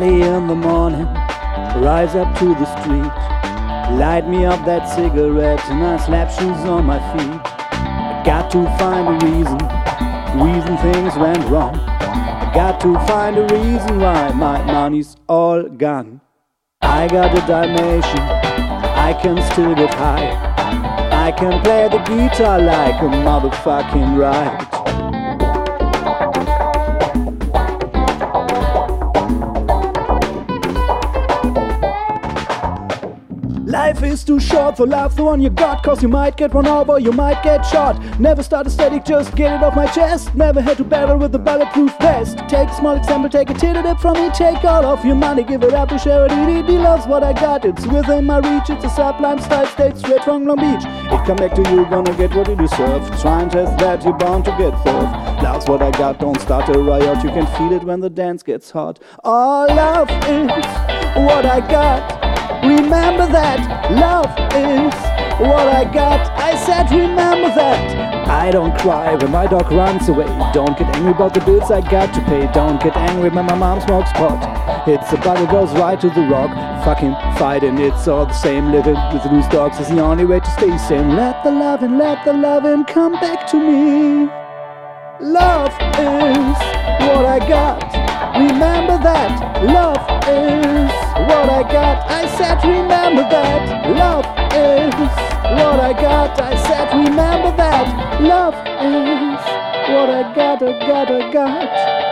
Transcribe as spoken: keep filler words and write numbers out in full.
Early in the morning, rise up to the street, light me up that cigarette and I slap shoes on my feet. I got to find a reason, reason things went wrong. I got to find a reason why my money's all gone. I got a Dalmatian, I can still get high. I can play the guitar like a motherfucking right. Life is too short for love the one you got, cause you might get run over, you might get shot. Never start a static, just get it off my chest. Never had to battle with a bulletproof vest. Take a small example, take a titty dip from me. Take all of your money, give it up to charity. He loves what I got, it's within my reach. It's a sublime style state straight from Long Beach. It come back to you, gonna get what you deserve. Try and test that, you're bound to get served. Love's what I got, don't start a riot. You can feel it when the dance gets hot. All love is what I got. Remember that, love is what I got. I said remember that. I don't cry when my dog runs away. Don't get angry about the bills I got to pay. Don't get angry when my mom smokes pot. It's a body goes right to the rock. Fucking fighting, it's all the same. Living with loose dogs is the only way to stay sane. Let the loving, let the loving come back to me. Love is what I got. Remember that, love is what I got. I said remember that, love is what I got. I said remember that, love is what I got, I got, I got.